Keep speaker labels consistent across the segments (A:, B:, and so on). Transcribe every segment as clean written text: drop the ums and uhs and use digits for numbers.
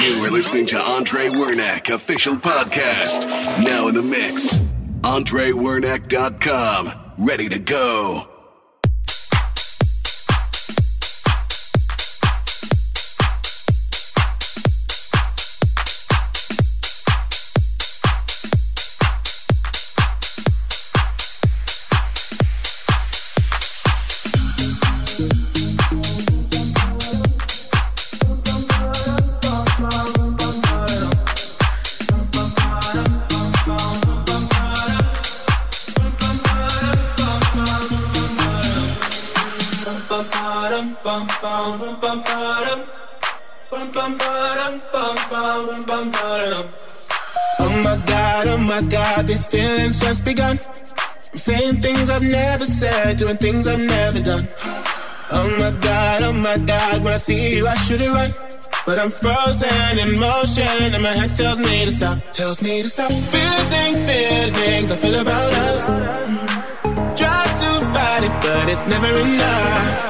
A: You are listening to Andre Wernack official podcast. Now in the mix. AndreWernack.com. Ready to go.
B: Oh my God, these feelings just begun. I'm saying things I've never said, doing things I've never done. Oh my God, when I see you I should it right. But I'm frozen in motion and my head tells me to stop. Feelings I feel about us. Try to fight it, but it's never enough.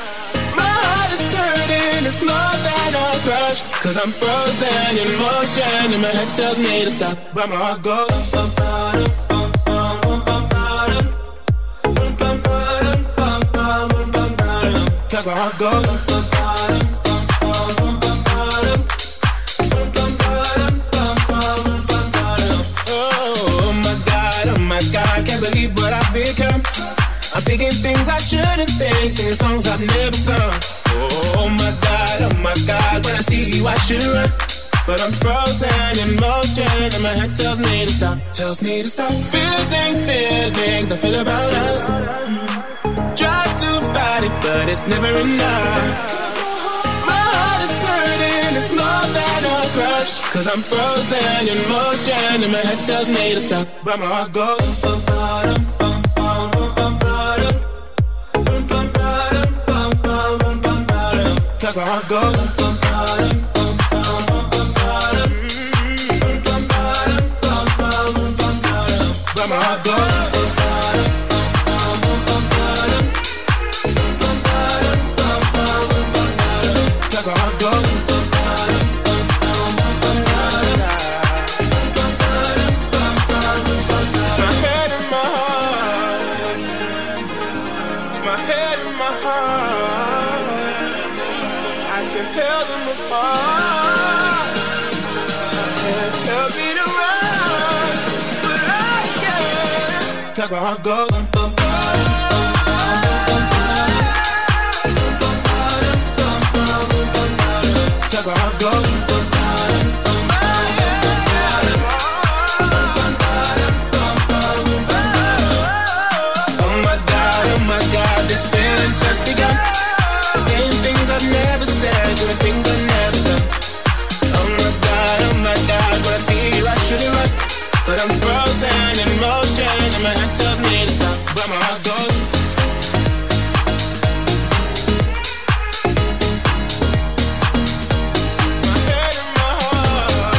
B: It's more than a crush, 'cause I'm frozen in motion and my head tells me to stop, but my heart goes bum bum bum bum bum bum bum bum bum bum, 'cause my heart goes bum bum bum bum bum bum. Oh my God, can't believe what I've become. I'm thinking things I shouldn't think, singing songs I've never sung. Oh my God, when I see you I should run. But I'm frozen in motion and my head tells me to stop. Feelings I feel about us. Try to fight it, but it's never enough. My heart is hurting, it's more than a crush, 'cause I'm frozen in motion and my head tells me to stop, but my heart goes bum bum bum bum bum bum. 'Cause my heart goes bum bum bum bum bum bum, but my heart goes bum bum bum bum bum, 'cause my heart goes bum bum bum bum bum. My head and my heart, my head and my heart, I can tell them apart. Can't help me to run, but I can't, 'cause my heart goes bum bum bum bum, 'cause my heart goes bum bum bum. Oh my God, this feeling's just begun. Saying things I've never said, doing things I've never done. Oh my God, when I see you I should it right. But I'm frozen in motion and my head tells me to stop, but my heart goes. My head and my heart.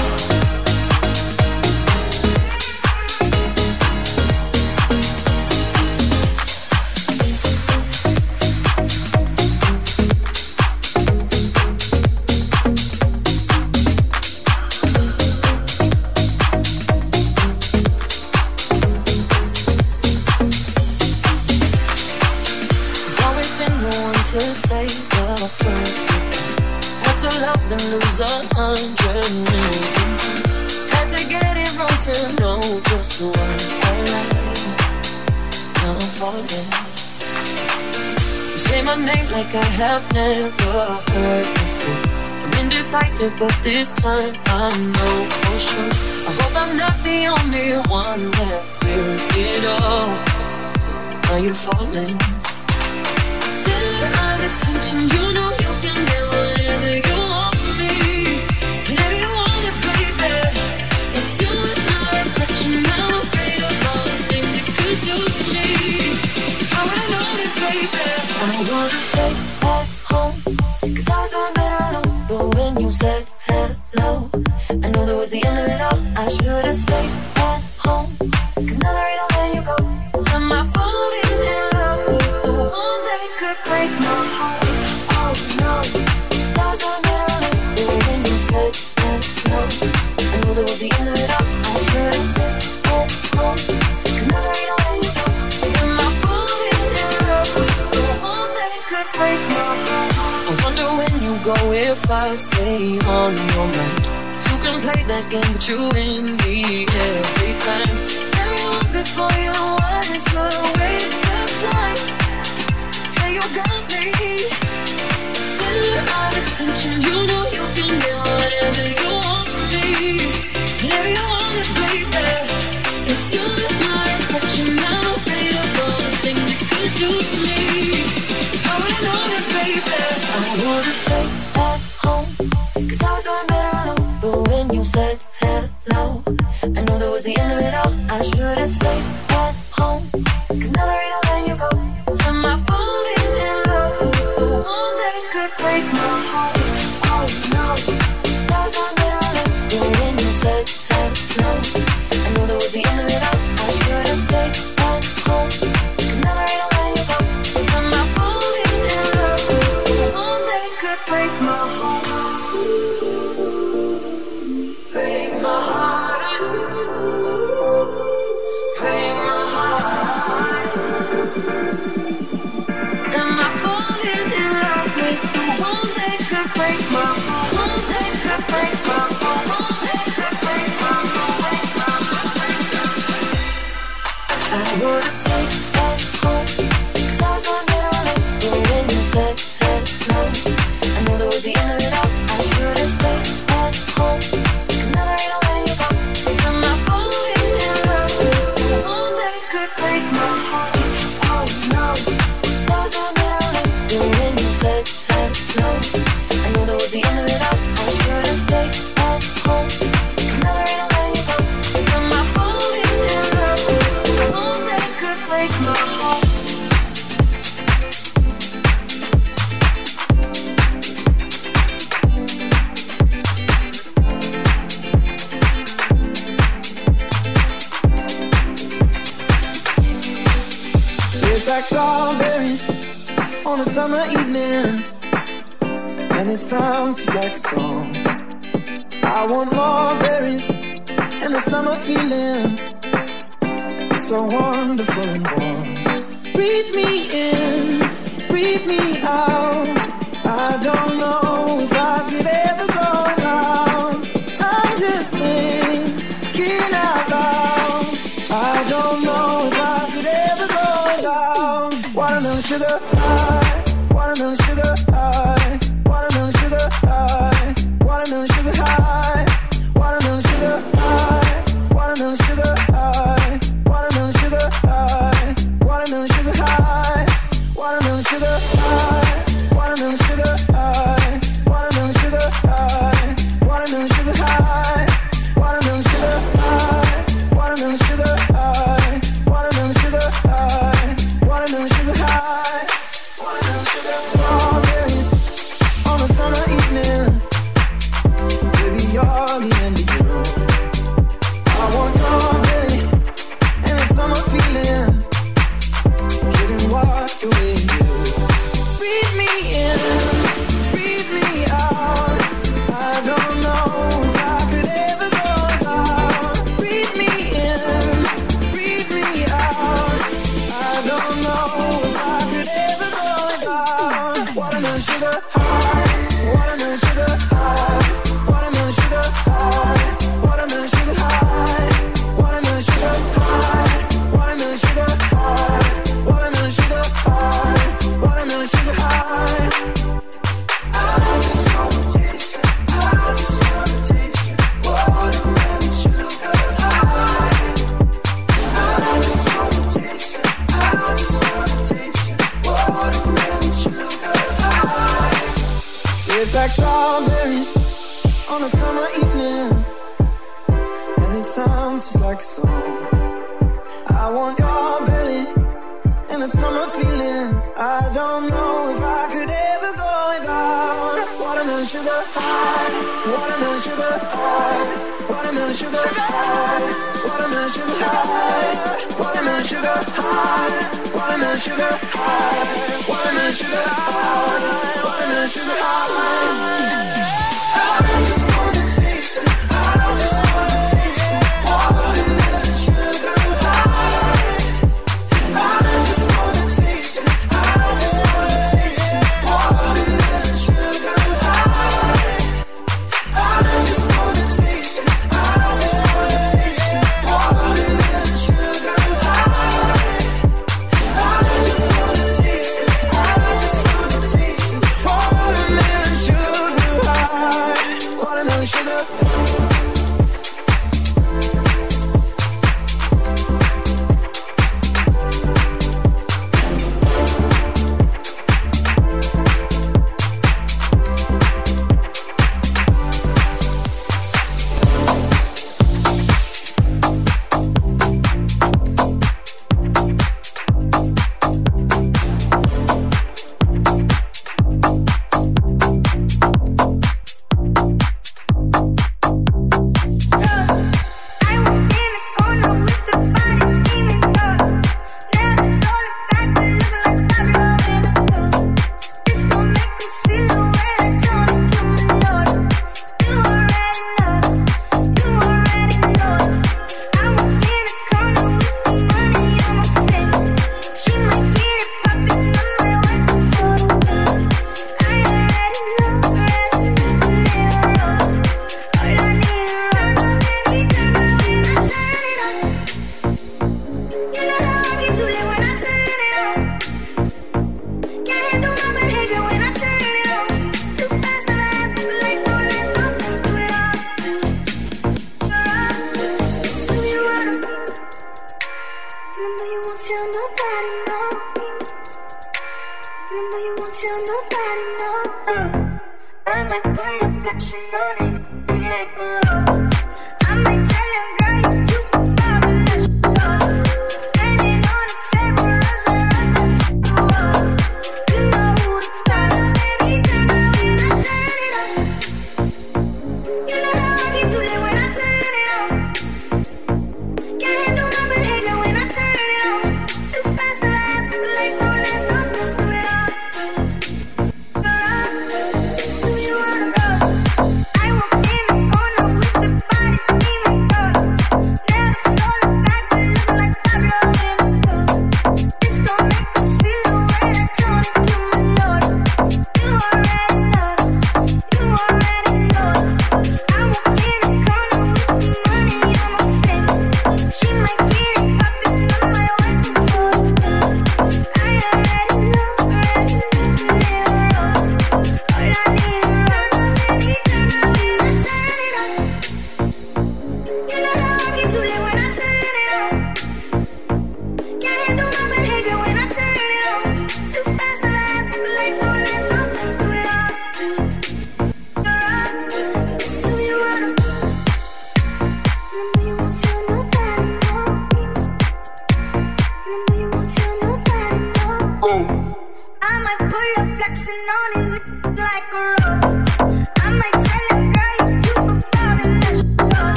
C: To say the first thing. Had to love and lose 100 million times. Had to get it wrong to know just what I like. Now I'm falling. You say my name like I have never heard before. I'm indecisive, but this time I know for sure. I hope I'm not the only one that fears it all. Are you falling? Attention, you know you can get whatever you want from me. Whenever you want it, baby. It's you and my reflection. I'm afraid of all the things it could do to me. If I would've known it, baby. I wanna stay at home, 'cause I was doing better alone. But when you said hello, I knew that was the end of it all. I should've stayed at home, 'cause now there ain't no letting you go. Am I falling in love with the one that could break my heart? Oh, if I stay on your mind. You can play that game, but you win me every time. Everyone before you was a waste of time. Yeah, you got me. Center of attention, you know you can get whatever you want from me. Whenever you want it, baby. It's you and my reflection. I'm afraid of all the things it could do to me. If I would've known it, baby, I would've stayed at home, 'cause I was doing better alone. But when you said hello, I knew that was the end of it all. I should've stayed at home, 'cause now there ain't no letting you go. Am I falling in love? One that could break my heart. Oh no, that was doing better alone. But when you said hello, I knew that was the end of it all. I should've stayed at home, 'cause now there ain't no letting you go. Am I falling in love? One that could break my heart. Break my heart. Break my heart. Am I falling in love with the one that could break my heart? One that could break my heart. One that could break my heart. I would've stayed at home, 'cause I was doing better alone. But when you said hello, I knew that was the end of it all. I should've stayed at home, 'cause now there ain't no letting you go. Am I falling in love with the one that could break my heart? Oh no, that was doing better alone. But when you said hello, I knew that was the end of it all. I should've stayed at home, 'cause now there ain't no letting you go. Am I falling in love with the one that could break my heart?
D: Tastes like strawberries on a summer evening, and it sounds just like a song. I want more berries and that summer feeling. It's so wonderful and warm. Breathe me in, breathe me out. I don't know if I could ever go without. I'm just thinking out loud. I don't know if I could ever go without. Watermelon sugar high, watermelon sugar high, watermelon sugar high, watermelon sugar high, watermelon sugar high, watermelon sugar high, watermelon sugar high, watermelon sugar high, watermelon sugar high, watermelon sugar high, watermelon sugar high, watermelon sugar high, watermelon sugar high, watermelon sugar high, watermelon sugar high, watermelon sugar high, watermelon sugar. Strawberries on a summer evening, baby, you're the end of you. I want your belly and that summer feeling, getting washed away in you. Breathe me in, breathe me out. I don't know if I could ever go without. Breathe me in, breathe me out. I don't know if I could ever go without. Watermelon sugar high, watermelon sugar high, watermelon sugar high, watermelon sugar high, watermelon sugar high, watermelon sugar high, watermelon sugar high, watermelon sugar high. I just wanna taste it, I just wanna taste it, watermelon sugar high. I just wanna taste it, I just wanna taste it, watermelon sugar high. Tastes like strawberries on a summer evening, and it sounds just like a song. I want your belly and that summer feeling. I don't know if I could ever go without. Watermelon sugar high, watermelon sugar high, watermelon sugar high, watermelon sugar high, watermelon sugar high, watermelon sugar high, watermelon sugar high, watermelon sugar high. I just wanna taste it, I just wanna taste it, watermelon sugar high. I just wanna taste it, I just wanna taste it, watermelon sugar high. the sugar.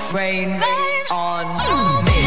E: Rain on me.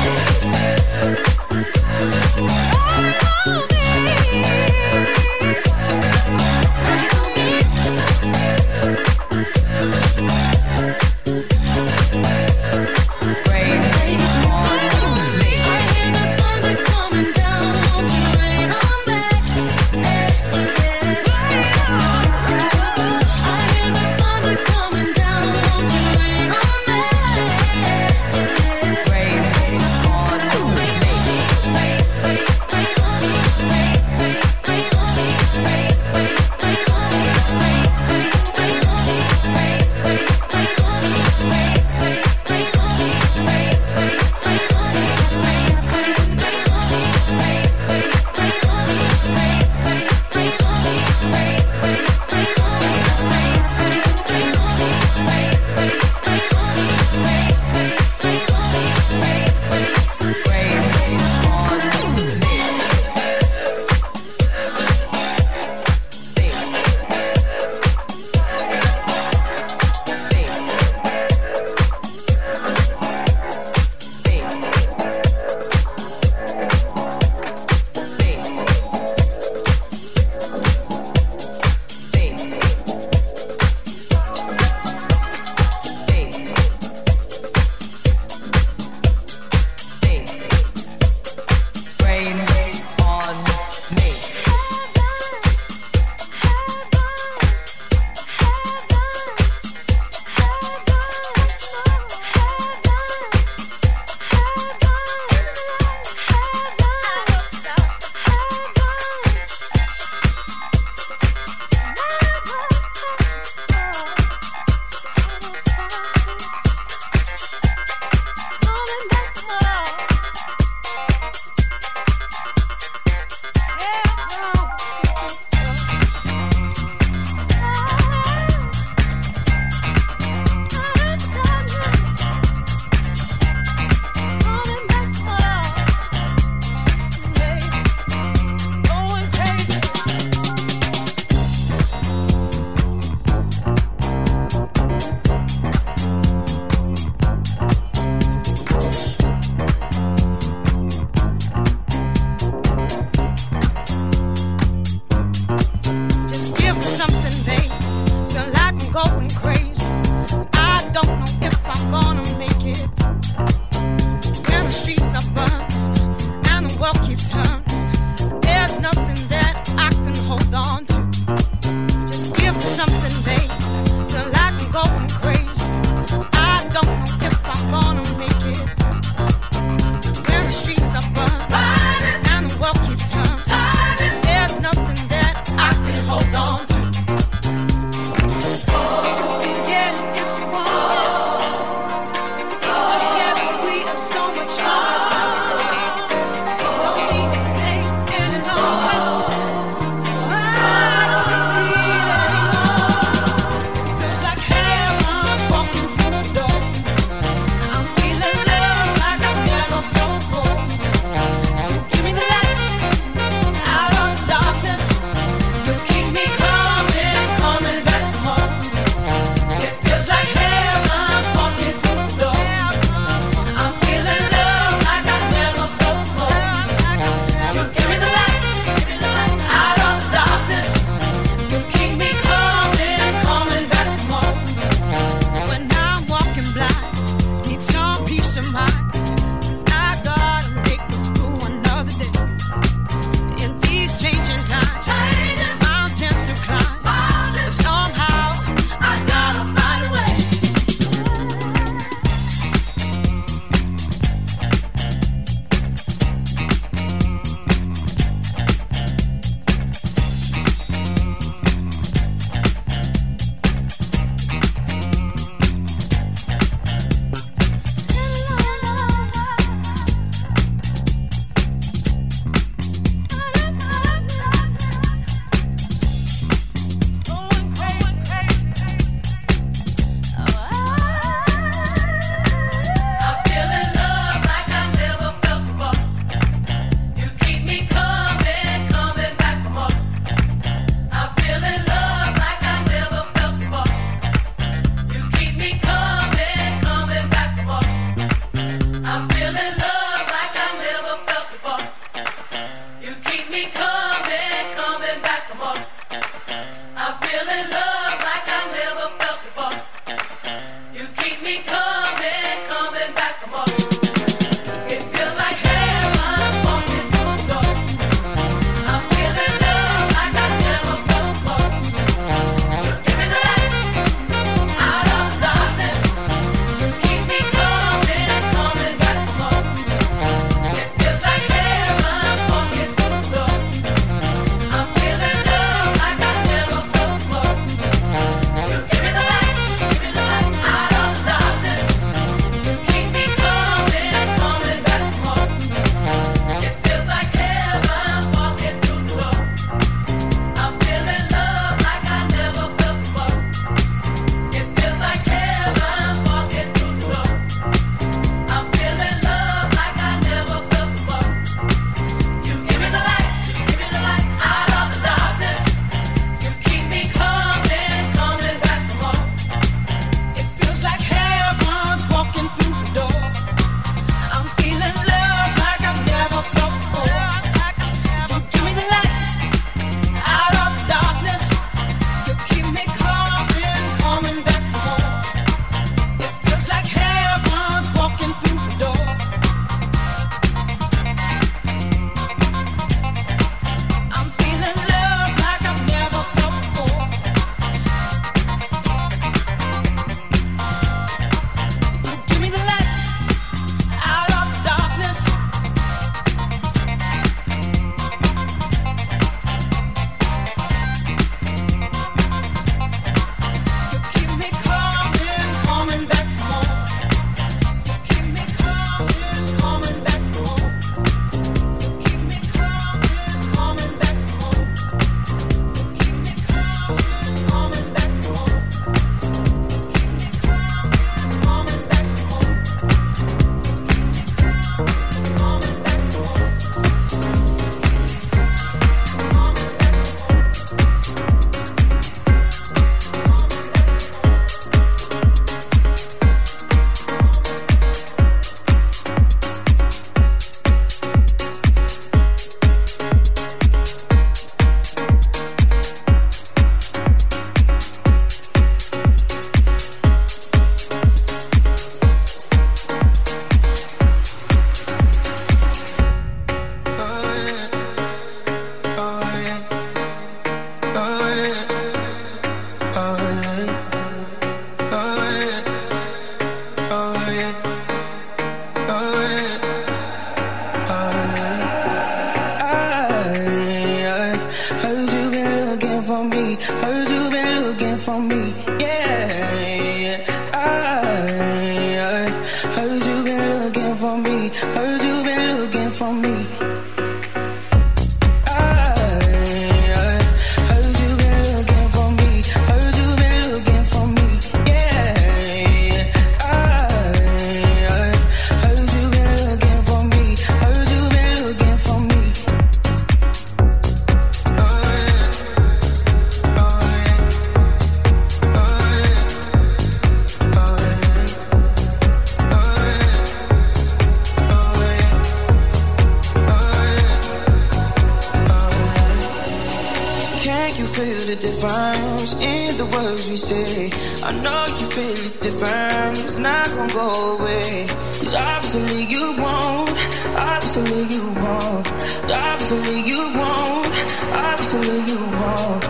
D: it's different, it's not gonna go away. Cause obviously you won't, obviously you won't, obviously you won't, obviously you won't.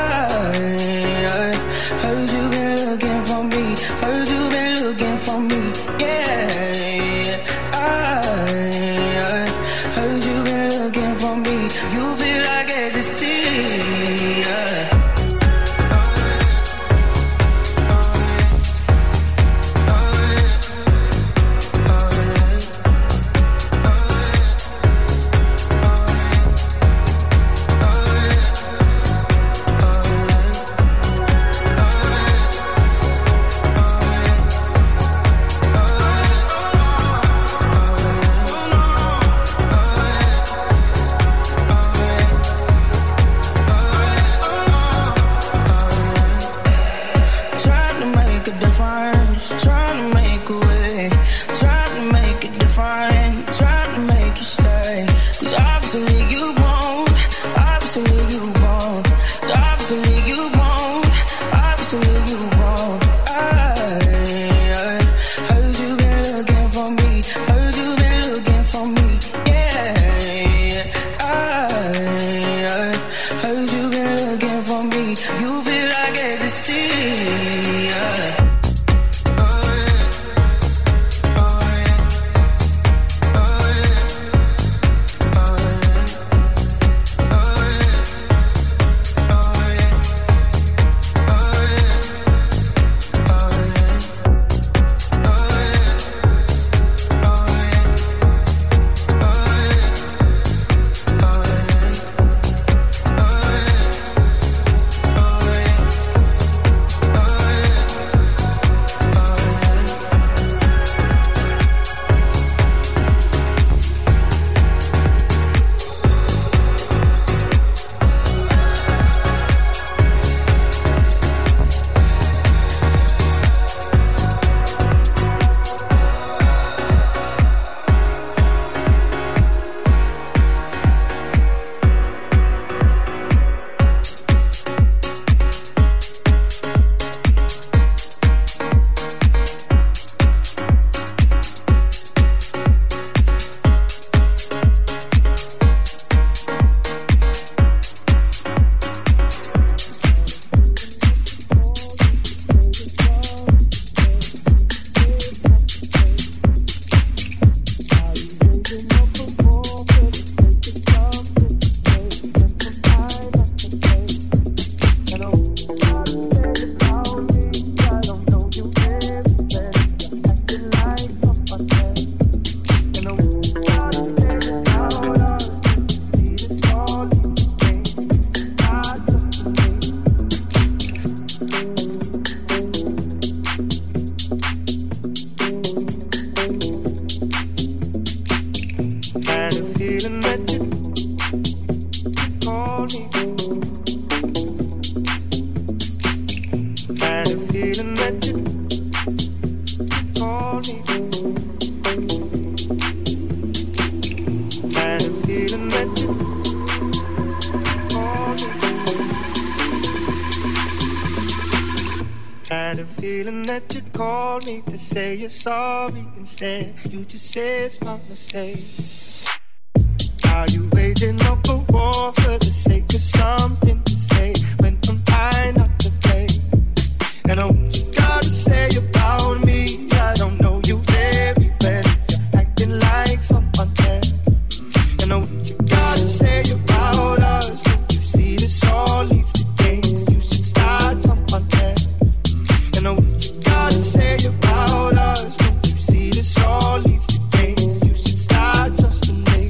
D: I heard you been looking for me, heard you been looking for me, yeah. I heard you been looking for me, you feel like ecstasy, yeah.
F: Sorry, instead you just say it's my mistake. Are you waging up a war for the sake of something to say when I'm trying not to play? And I what you gotta say about me, I don't know you very well if you're acting like someone else. And I what you gotta say about us, don't you see this all leads to games, you should start someone else. And I what you gotta say about us, this all leads to things you should start just to make.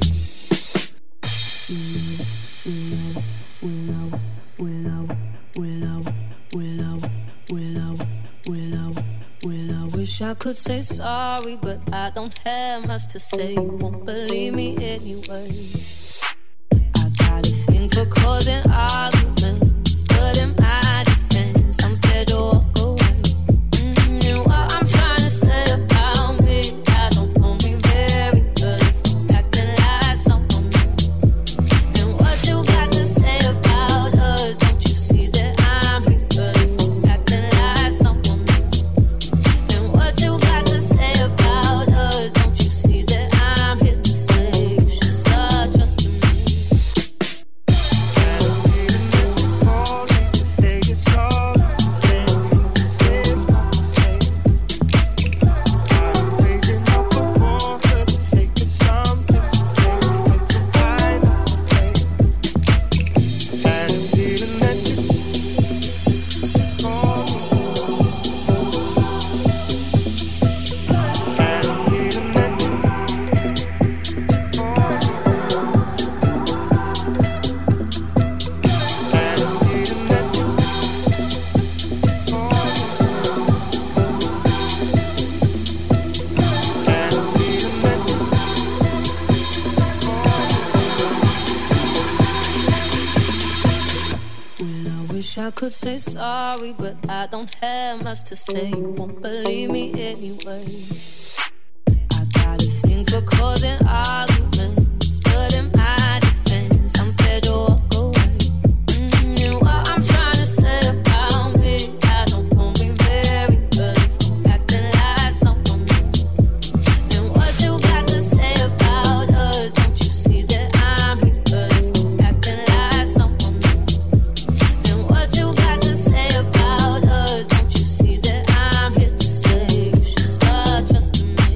C: Wish I could say sorry, but I don't have much to say. You won't believe me anyway. I got a thing for causing arguments, but in my defense, I'm scared to walk away. And what I'm trying to say about me, I don't know me very well if I'm acting like someone else. And what you got to say about us, don't you see that I'm real if I'm acting like someone else? Wish I could say sorry, but I don't have much to say. You won't believe me anyway. I got a thing for causing arguments, but in my defense, I'm scared to walk away. And what I'm trying to say about me, I don't know me very well if I'm acting like someone else. And what you got to say about us, don't you see that I'm here, but if I'm acting like someone else. And what you got to say about us, don't you see that I'm here to say you should start trusting me.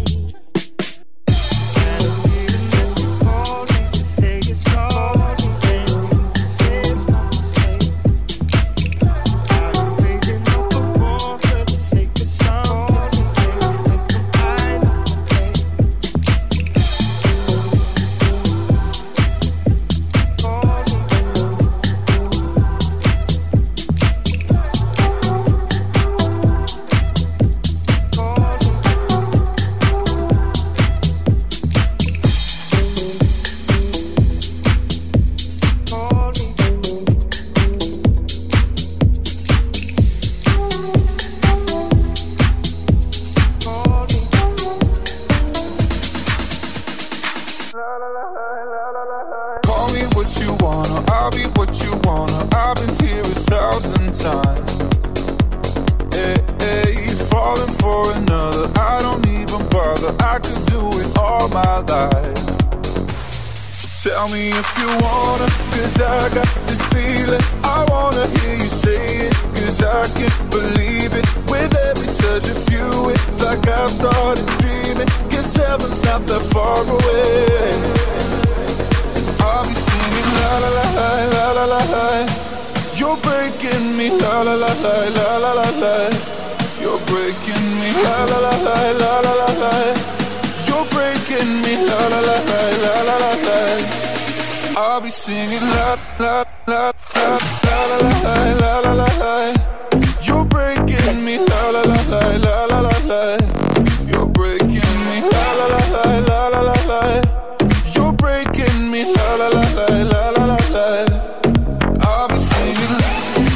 G: Call me what you wanna, I'll be what you wanna. I've been here 1,000 times. Hey, hey, falling for another, I don't even bother. I could do it all my life. So tell me if you wanna, cause I got this feeling. I wanna hear you say it, cause I can't believe it. With every touch of you, it's like I've started dreaming. Guess heaven's not that far away. I'll be singing la la la la la la la. You're breaking me la la la la la la la la. You're breaking me la la la la la la la la. You're breaking me la la la la la la la la. I'll be singing la la la la la la la la la la la. You're breaking me la la la la la la la la. You're breaking me la la la la la la la la. You're breaking me la la la la la la la la. I'll be singing la.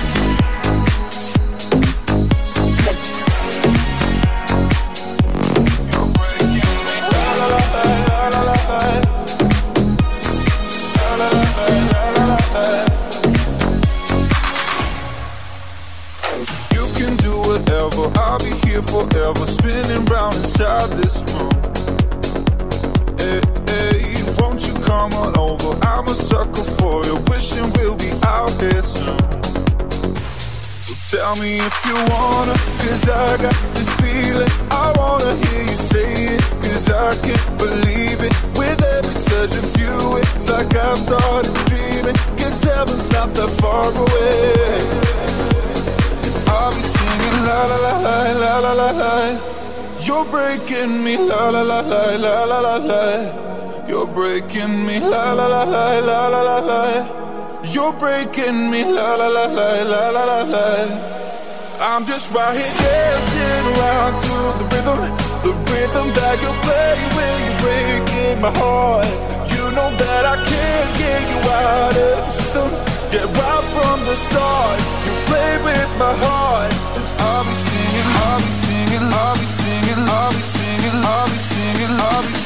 G: You're breaking me la la la la la la la. La la la la la la la. You can do whatever, I'll be here forever, spinning round inside this room. Hey, hey, won't you come on over? I'm a sucker for you, wishing we'll be out here soon. So tell me if you wanna, cause I got this feeling. I wanna hear you say it, cause I can't believe it. With every touch of you, it's like I've started dreaming. Guess heaven's not that far away. I'll be singing la la la la la la la la. You're breaking me la la la la la la la la. You're breaking me la la la la la la la la. You're breaking me la la la la la la la la. I'm just right here dancing around to the rhythm that you play when you're breaking my heart. You know that I can't get you out of the system. Yeah, right from the start, you play with my heart. And I'll be singing, I'll be singing, I'll be singing, I'll be singing, I'll be singing, I'll be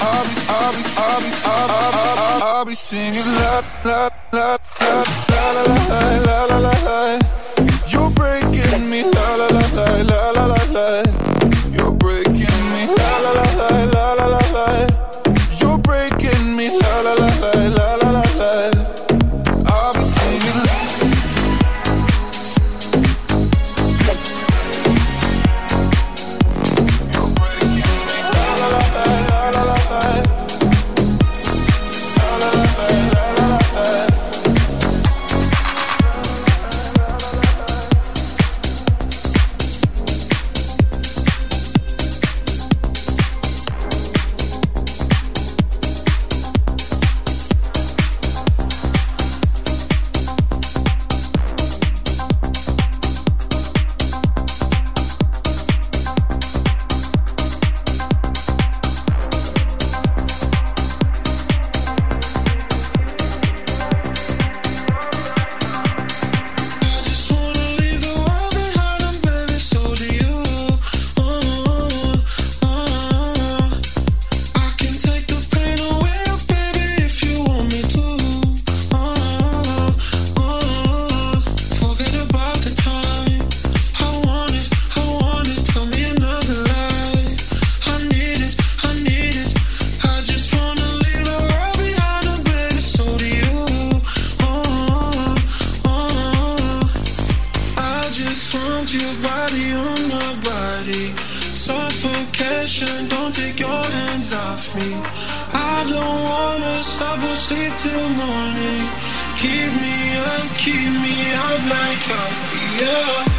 G: singing la la la la la la la la la la. You're breaking me la la la la la la la la. You're breaking me la la la la la la la la. You're breaking me la la la la la la la la. I'll be singing la. You're breaking me la la la la la la la. La la la la la la la.
H: suffocation. Don't take your hands off me. I don't wanna stop or sleep till morning. Keep me up like coffee, yeah.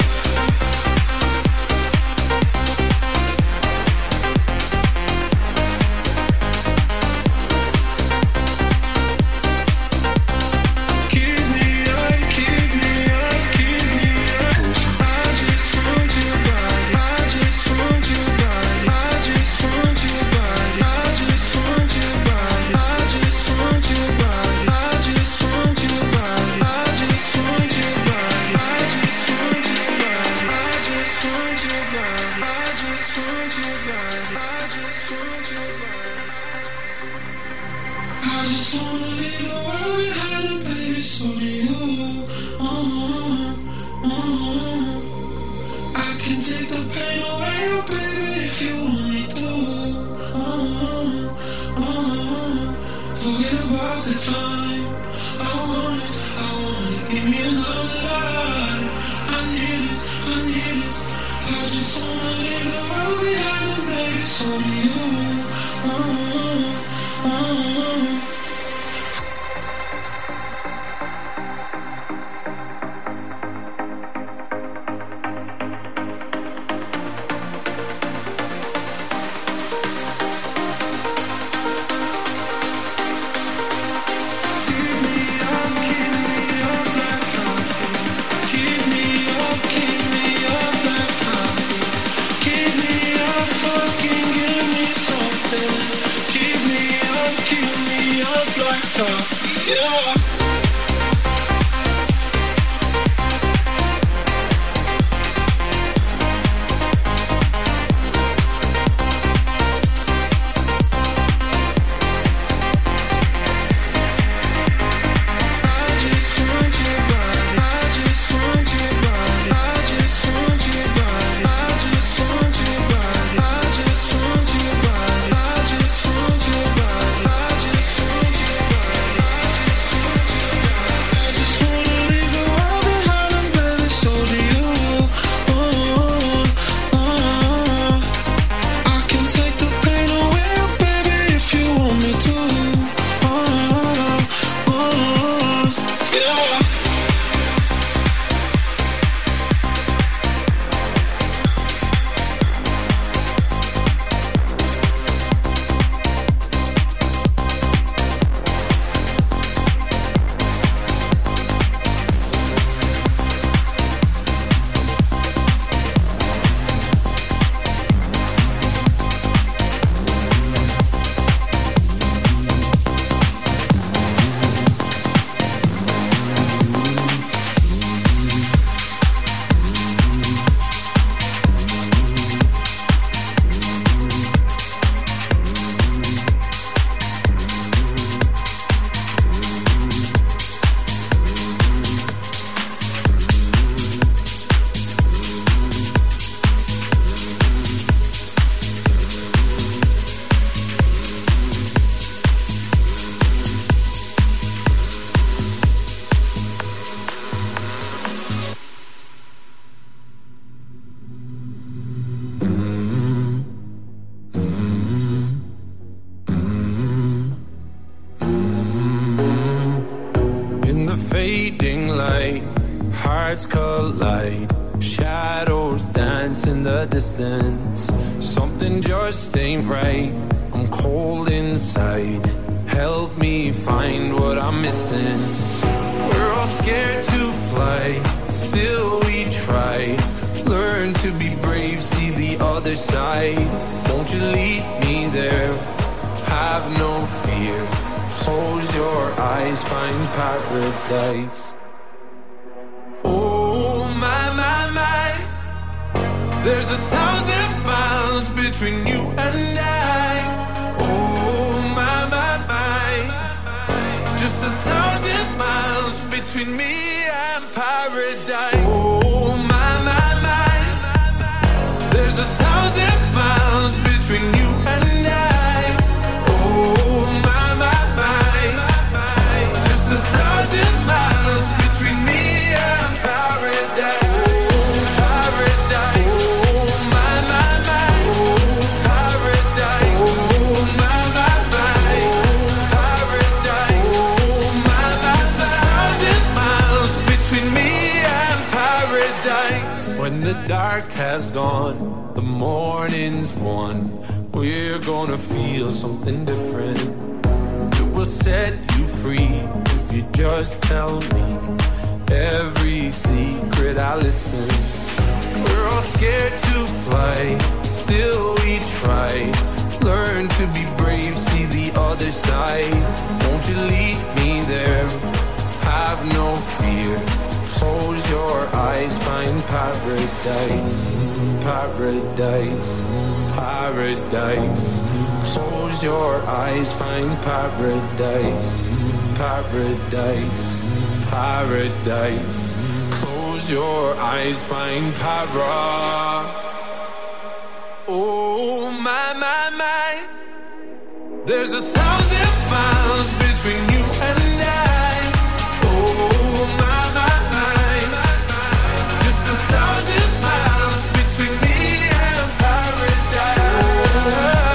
I: hearts collide. Shadows dance in the distance. Something just ain't right. I'm cold inside. Help me find what I'm missing. We're all scared to fly, still we try. Learn to be brave, see the other side. Won't you lead me there? Have no fear. Close your eyes, find paradise. Oh my, my, my. There's 1,000 miles between you and I. Oh my, my, my. Just 1,000 miles between me and paradise. Oh my, my, my. There's 1,000 miles between you and I. Oh my, my, my. Just 1,000 miles between me and paradise. Paradise. Oh my, my, my. has gone, the morning's won. We're gonna feel something different. It will set you free if you just tell me every secret I listen. We're all scared to fly, still we try. Learn to be brave, see the other side. Won't you lead me there? Have no fear. Close your eyes, find paradise, paradise, paradise. Close your eyes, find paradise, paradise, paradise. Close your eyes, find para. Oh my, my, my. There's 1,000 miles between you and I. Oh my, my, my. Just 1,000 miles between me and paradise.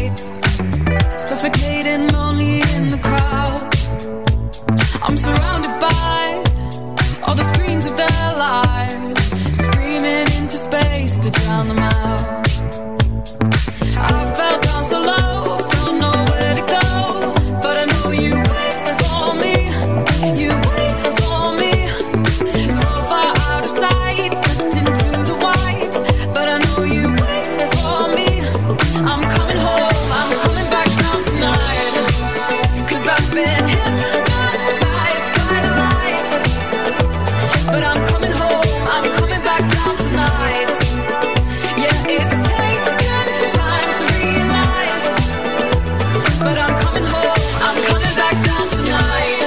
C: lights, suffocating, lonely in the crowd. I'm surrounded by all the screens of their lives, screaming into space to drown them out. I fell down so low, felt nowhere to go, but I know you wait for me, you wait for me. So far out of sight, slipped into the white, but I know you wait for me. I'm coming home, I'm coming back down tonight, 'cause I've been hypnotized by the lights. But I'm coming home, I'm coming back down tonight. Yeah, it's taken time to realize, but I'm coming home, I'm coming back down tonight.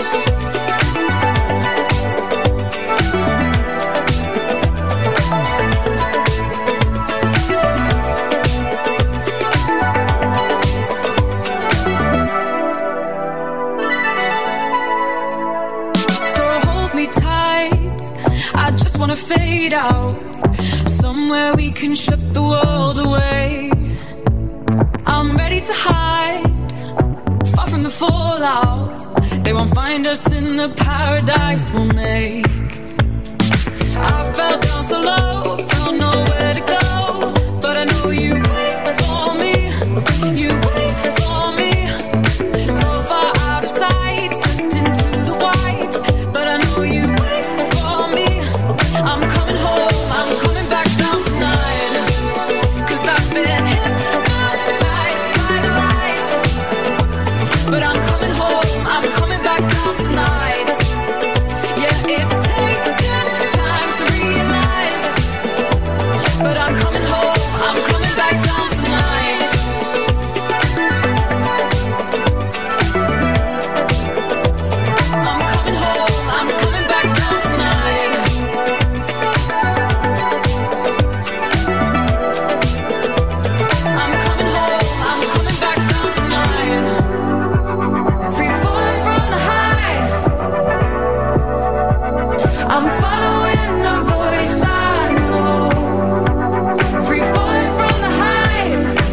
C: So hold me tight, I just wanna fade out, somewhere we can shut the world away. I'm ready to hide, far from the fallout. They won't find us in the paradise we'll make. I fell down so low, felt nowhere to go, but I know you wait for me, you wait for me. So far out of sight, slipped into the white, but I know you wait for me. I'm coming home, I'm coming back down tonight, 'cause I've been hypnotized by the lights. But I'm coming home, I'm coming back down tonight. Yeah, it's taken time to realize, but I'm coming home, I'm coming back down tonight. I'm coming home, I'm coming back down tonight. I'm coming home, I'm coming back down tonight. Free falling from the high, I'm following the voice I know. Free falling from the high,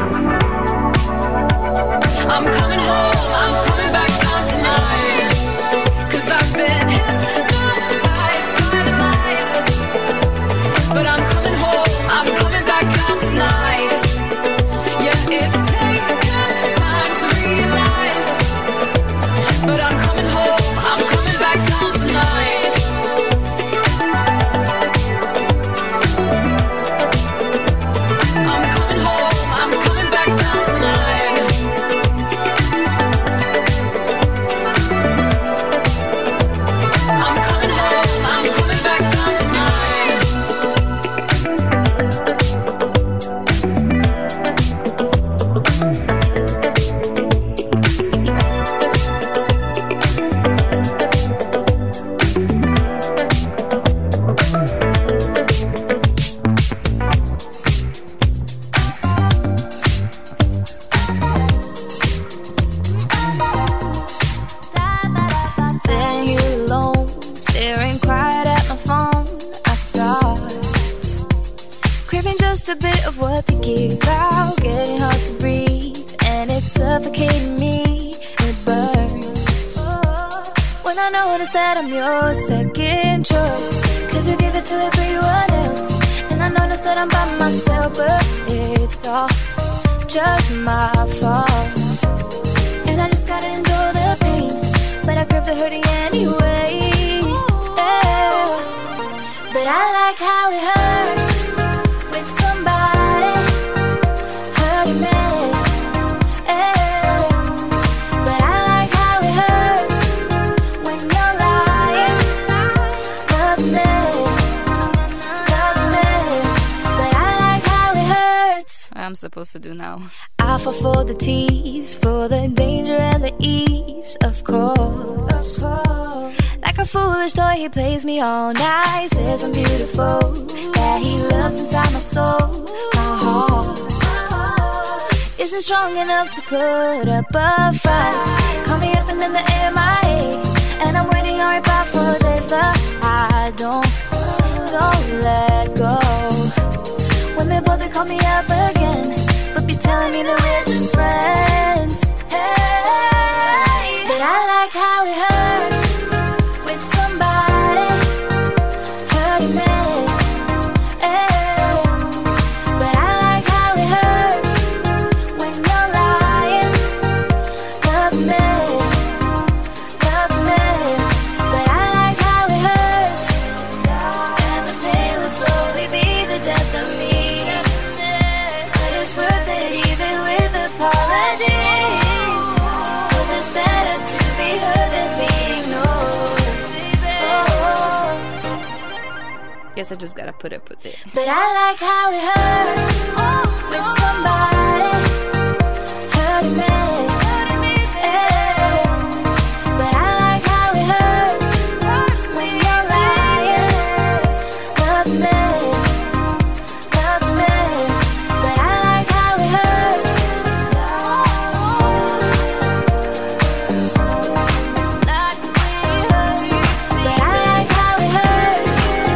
C: I'm coming home, I'm coming back down tonight, 'cause I've been hypnotized by the lights. But I'm coming home, I'm coming back down tonight. Yeah, it's taken time to realize, but I'm coming home, I'm coming back down tonight. I'm coming home, I'm coming back down tonight. I'm coming home, I'm coming back down tonight. Sitting here alone, staring quiet at my phone, I start craving just a bit of what they give out, getting hard to breathe, and it's suffocating me, it burns. When I notice that I'm your second choice, 'cause you give it to everyone else, and I notice that I'm by myself, but it's all just my fault. And I just gotta endure the pain, but I grip the hurting anyway. Yeah. But I like how it hurts with somebody hurting me. Yeah. But I like how it hurts when you're lying, love me, love me. But I like how it hurts. What I'm supposed to do now? I fall for the tease, for the danger and the ease, of course. Like a foolish toy, he plays me all night, says I'm beautiful, that he loves inside my soul. My heart isn't strong enough to put up a fight. Call me up and then the MIA, and I'm waiting on reply for days, but I don't let go. When they both, they call me up again, but could be telling me that we're just friends. Hey, but I like how it hurts with somebody hurting me. Hey, but I like how it hurts when you're lying. Love me, love me. But I like how it hurts, and the pain will slowly be the death of me. But it's worth it even with apologies, 'cause it's better to be heard than being ignored.
J: Guess I just gotta put up with it.
C: But I like how it hurts with somebody hurting me. Yeah. But I like how it hurts when you're lying. Love me, love me. But I like how it hurts. Like the way it hurts. But I like how it hurts.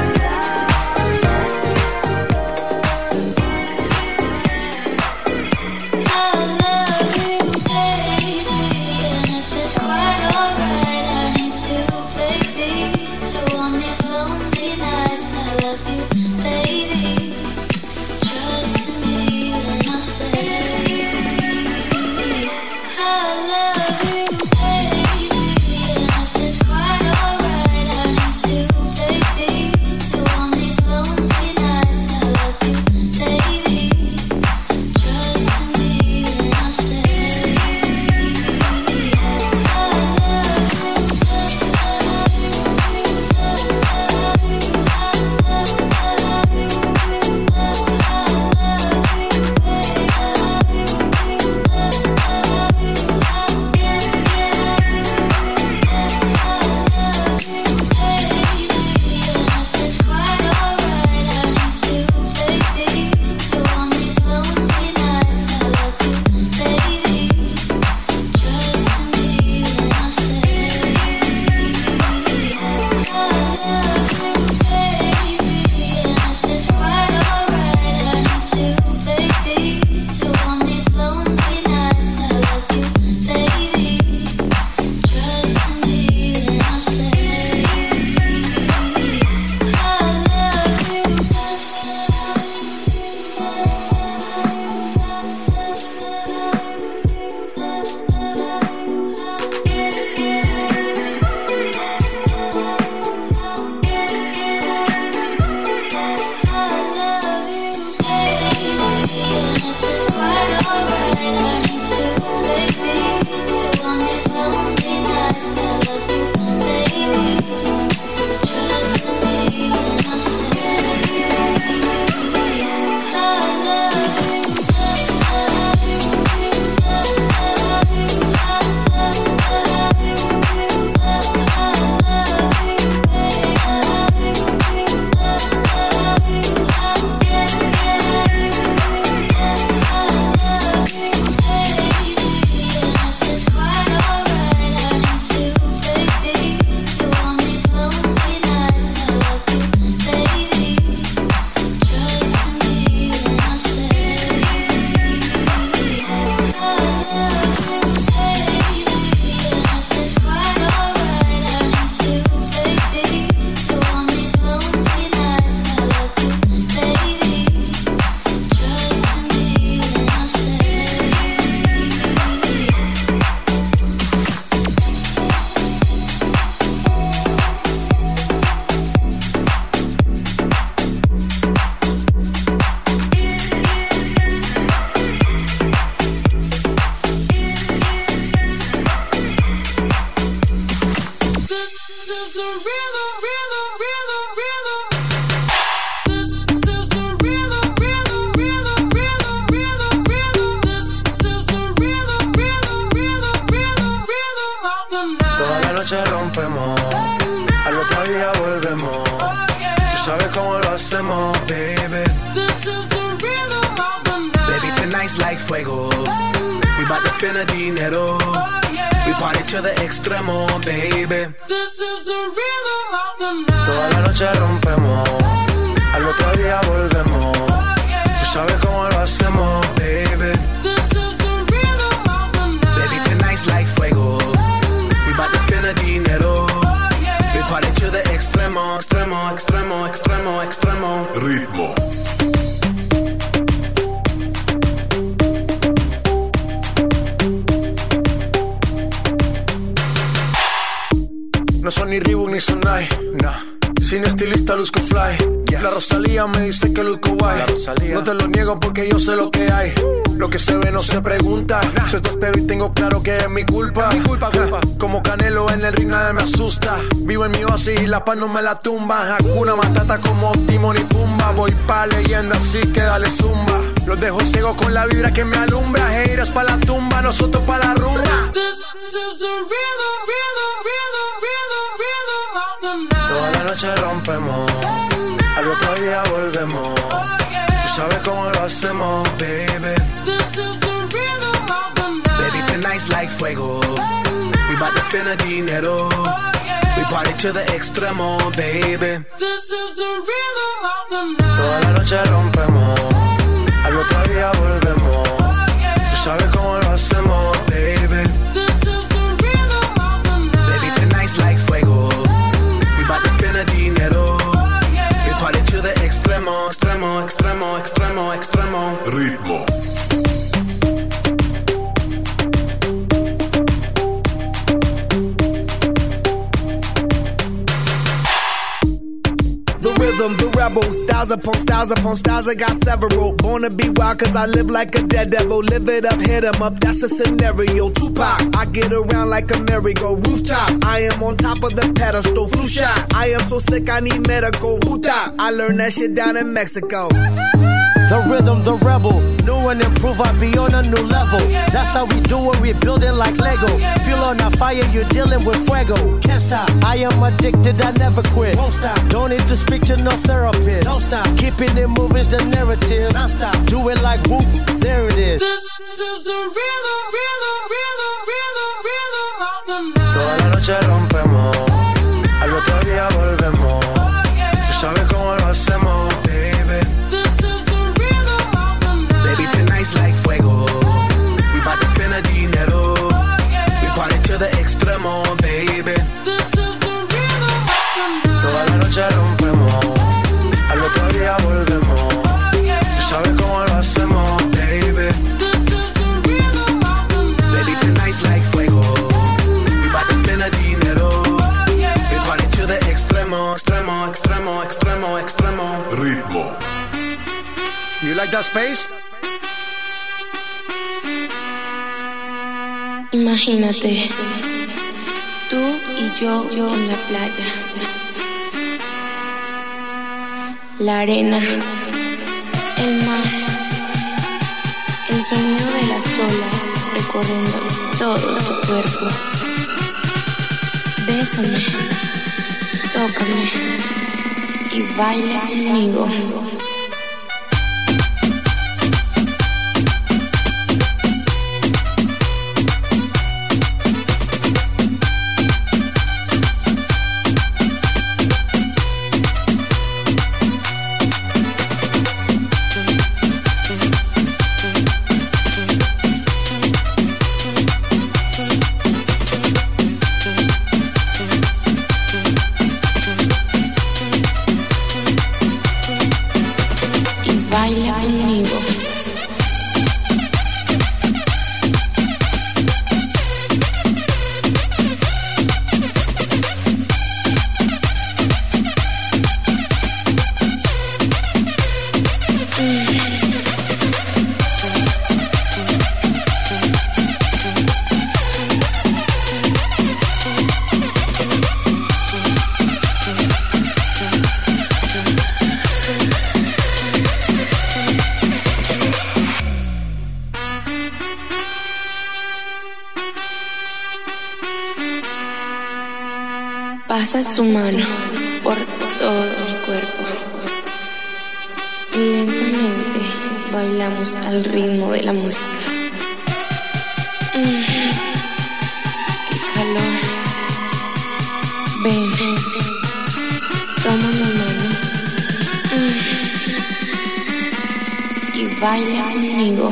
K: noche rompemos, al otro día volvemos. Tú sabes cómo lo hacemos, baby.
H: This is the rhythm of the night.
K: Baby, tonight's like fuego. We bout to spend the dinero. We party to the extremo, baby.
H: This is the rhythm of the night.
K: Toda la noche rompemos, al otro día volvemos. Tú sabes cómo lo hacemos, baby.
L: ni Sonai, nah. Sin estilista luzco fly. Yes. La Rosalía me dice que luzco guay. No te lo niego porque yo sé lo que hay. Lo que se ve no se pregunta. Yo te espero y tengo claro que es mi culpa. Culpa. Como Canelo en el ring nadie me asusta. Vivo en mi oasis y la paz no me la tumba. Hakuna Matata como Timon y Pumba. Voy pa' leyenda así que dale zumba. Los dejo ciego con la vibra que me alumbra. Heiras pa' la tumba, nosotros pa' la rumba.
K: Toda la noche rompemos, al otro día volvemos. Tú sabes cómo lo hacemos, baby. Baby, tonight's like fuego. We bout to spend the dinero. We party to the extremo, baby. Toda la noche rompemos, al otro día volvemos. Tú sabes cómo lo hacemos, baby. Baby, tonight's like fuego. About to spend the dinero. We party to the extremo, extremo, extremo, extremo, extremo.
A: Ritmo.
M: The rhythm, the rebel, styles upon styles upon styles, I got several. Born to be wild cause I live like a dead devil. Live it up, hit 'em up, that's a scenario. Tupac, I get around like a merry-go. Rooftop, I am on top of the pedestal. Flu shot, I am so sick I need medical. Hootop, I learned that shit down in Mexico.
N: The rhythm, the rebel, new and improve, I be on a new level. That's how we do it, we building like Lego. Feel on a fire, you're dealing with fuego. Can't stop, I am addicted, I never quit. Won't stop, don't need to speak to no therapist. Don't stop, keeping it moving's the narrative. Non stop, do it like whoop, there it is. This is the rhythm, rhythm, rhythm, rhythm, rhythm of the night.
K: Toda la noche rompemos, al otro día volvemos. Tú sabes cómo lo hacemos, baby. Tonight's like fuego. We bout to spend the dinero. We party to the extremo, baby. Toda la noche rompemos, al otro día volvemos. Tú sabes cómo lo hacemos, baby. Baby, tonight's like fuego. We bout to spend the dinero. We party to the extremo, extremo, extremo, extremo, extremo.
A: Ritmo.
L: You like that space?
J: Imagínate, tú y yo en la playa, la arena, el mar, el sonido de las olas recorriendo todo tu cuerpo. Bésame, tócame y baila conmigo. Pasa su mano por todo mi cuerpo y lentamente bailamos al ritmo de la música. ¡Qué calor! Ven, toma mi mano y baila conmigo.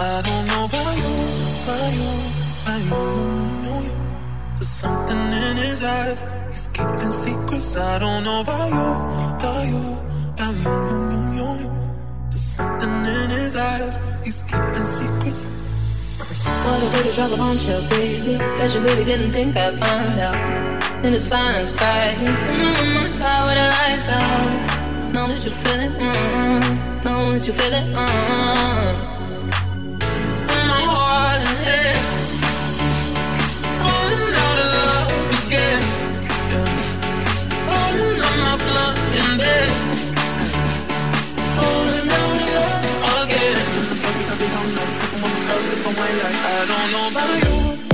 H: I don't know about you. There's something in his eyes. He's keeping secrets. I don't know about you. There's something in his eyes. He's keeping secrets.
C: What a way to drop a bombshell, baby. That you really didn't think I'd find out. In the silence, cry. I'm on the side with the lights out. Know that you feel it. Know that you feel it. My heart and head falling out of love again. Falling on my blood in bed. Falling out of love again. I don't know about you.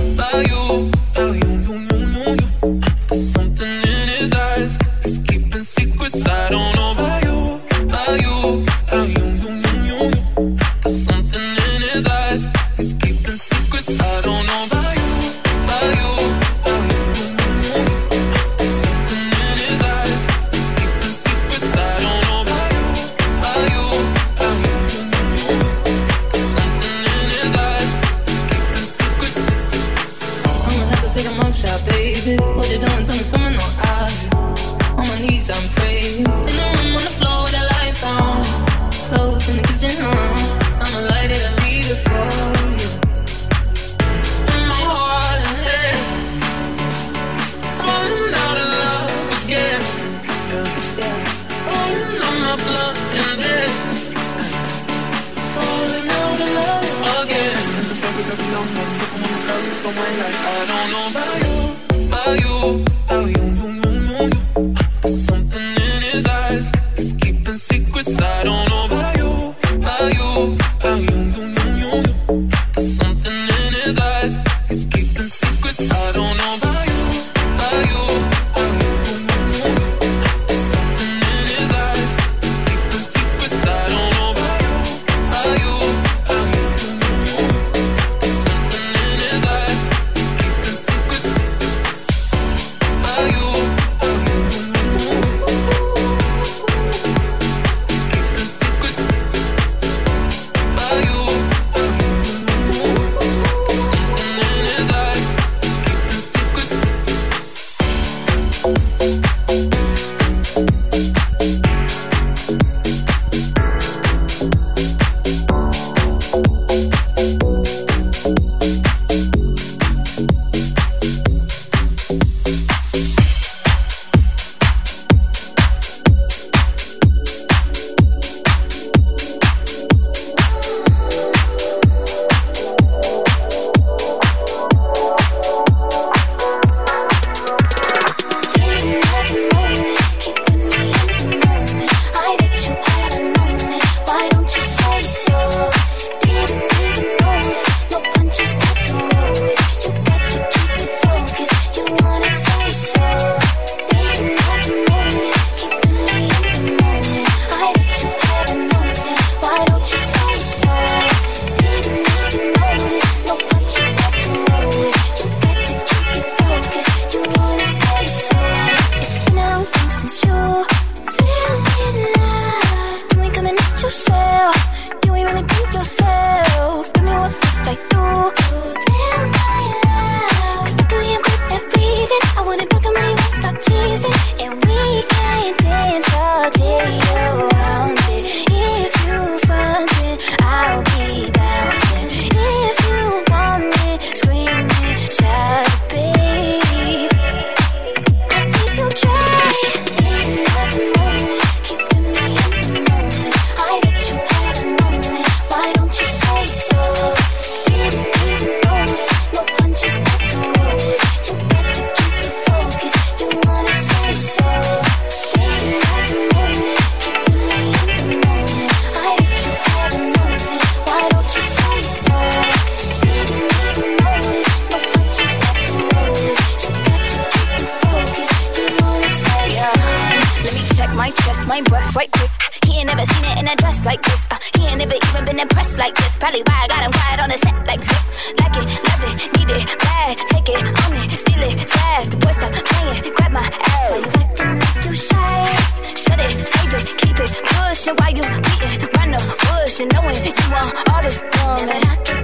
C: There's something in his eyes. He's keeping secrets. I don't know about you. There's something in his eyes. He's keeping secrets. I don't know about you. There's something in his eyes. He's keeping secrets. I don't know about you. There's something in his eyes. He's keeping secrets. I'ma have to take a mug shot, baby. What you doing? Tell me, coming on out. On my knees, I'm praying. In the room on the floor with the lights on. Clothes in the kitchen, I'ma light it and leave it for you. In my heart and head, falling out of love again. Falling on my blood in bed. Falling out of love again. I don't know about you. There's something in his eyes. He's keeping secrets. I don't know about you. There's something in his eyes. He's keeping secrets. I don't know about you. There's something in his eyes. He's keeping secrets. I don't know about you. There's something in his eyes. He's keeping secrets.
O: my breath right quick. He ain't never seen it in a dress like this. He ain't never even been impressed like this. Probably why I got him quiet on the set like zip. Like it, love it, need it, bad. Take it, own it, steal it, fast. The boy stop playing, grab my ass. Why you acting like you shy? Shut it, save it, keep it pushing while you beating. Run the bush and knowing you want all this woman.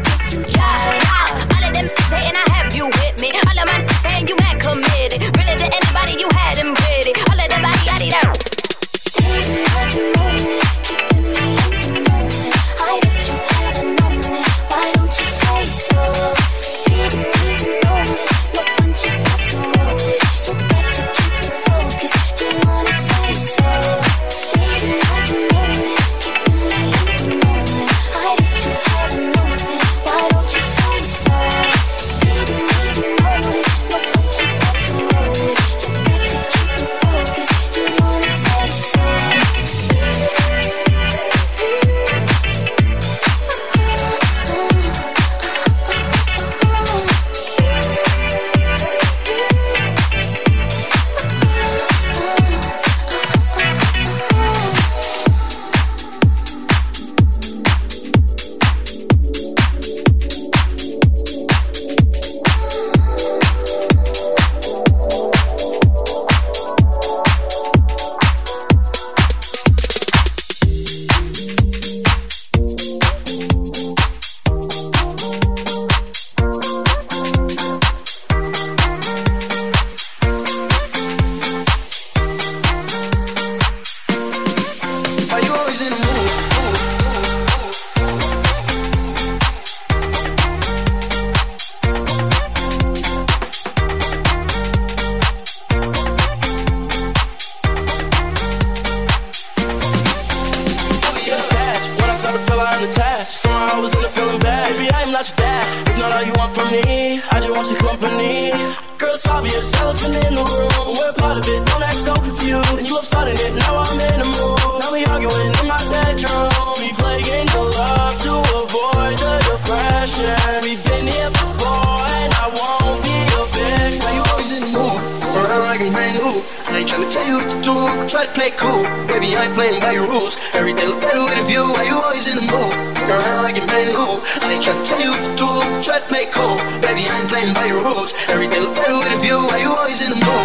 P: I was in the feeling bad. Baby, I am not your dad. It's not all you want from me. I just want your company. Girl, it's obvious, elephant in the room. We're part of it, don't act so confused. And you love starting it, now I'm in the mood. Now we arguing in my bedroom. We play games of love to avoid the depression. We've been here before, and I won't be a bitch. Now you always in the mood, or I'm like a man who I ain't tryna tell you what to do, try to play cool. Baby, I ain't playing by your rules. Everything look better with a view. Why you always in the mood? Girl, I'm like a man who I ain't tryna tell you what to do, try to play cool. Baby, I ain't playing by your rules. Everything look better with a view. Why you always in the mood?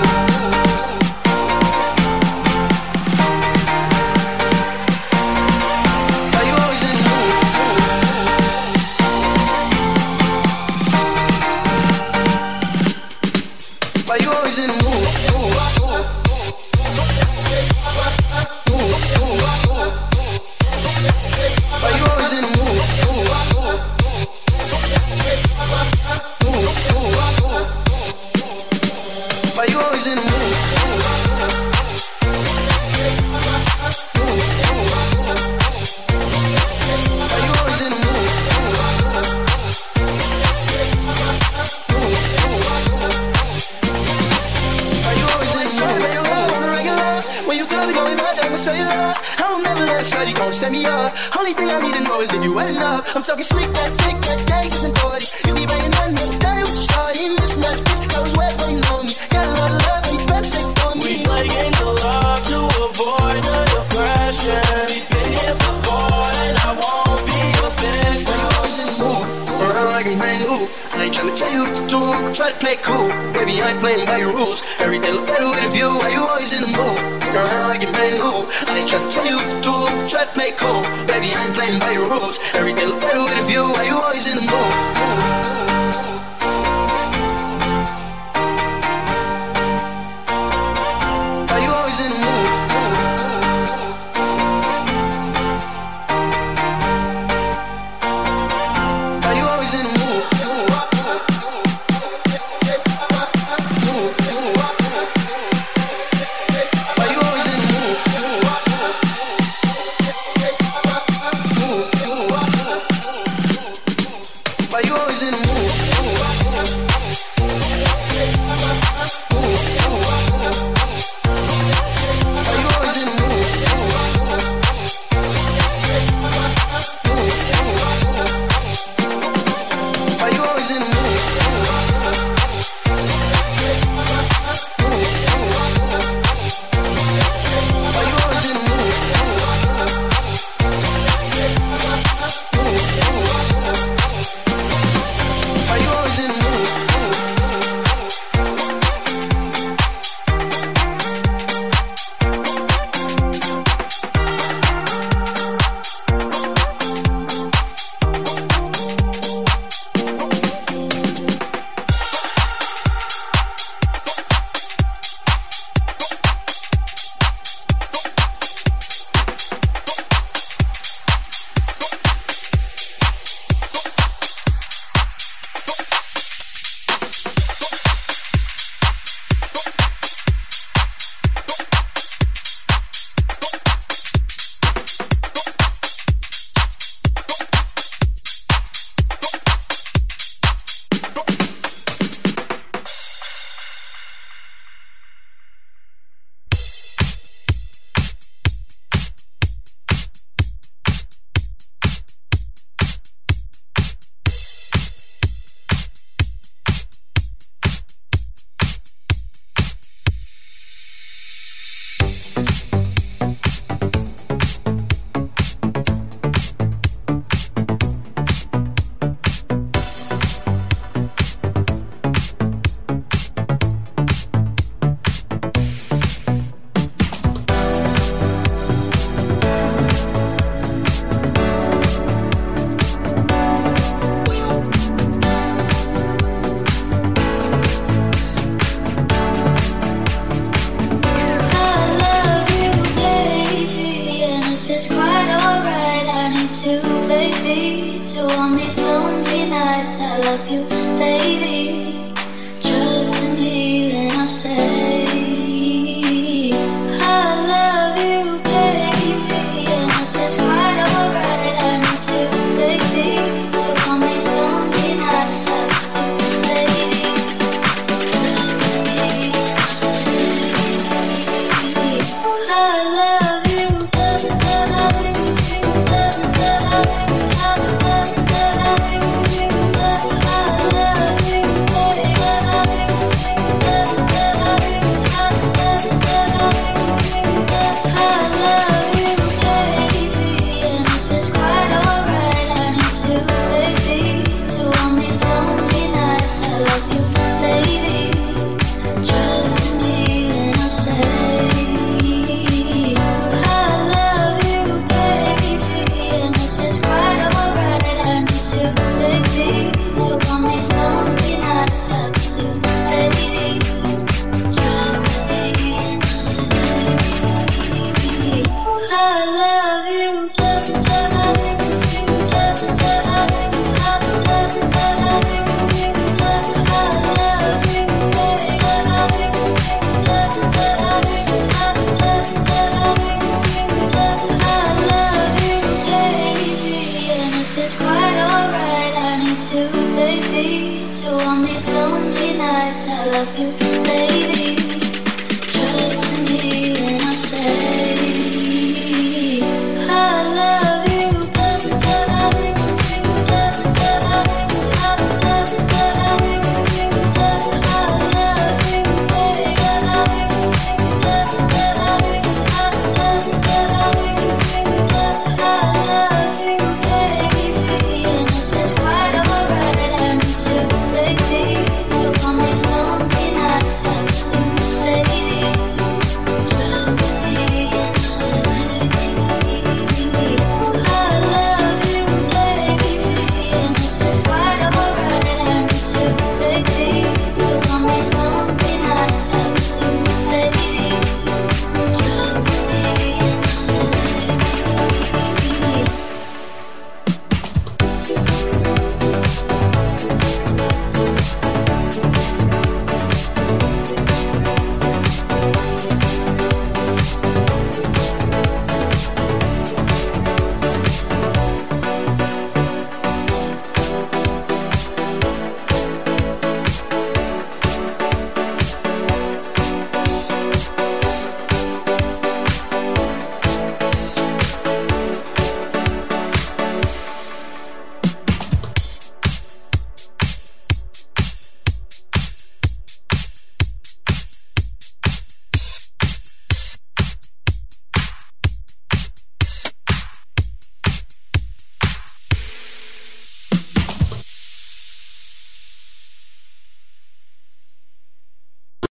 P: Why you always in the mood? Why you always in the mood? Set me up. Only thing I need to know is if you wet enough. I'm talking slick back, thick back, gangsters and 40. You be banging nothing but day with your shawty. Mismatch, bitch, I was wet when you know me. Got a lot of love and you better stay for me. We play games of love to avoid the depression. We've been here before and I won't be a bitch. Why you always in the mood? Or I'm like a man who I ain't tryna tell you what to do, try to play cool. Baby, I ain't playing by your rules. Everything look better with a view. Why you always in the mood? Girl, I'm like a man who I ain't tryna tell you what to do, try to play cool. Baby, I ain't playing by your rules. Everything look better with a view. Why you always in the mood? Why you always in the mood? Why you always in the mood?
Q: love you, baby. Trust in me when I say I love you, baby. And if it's quite alright, I need to, baby. love.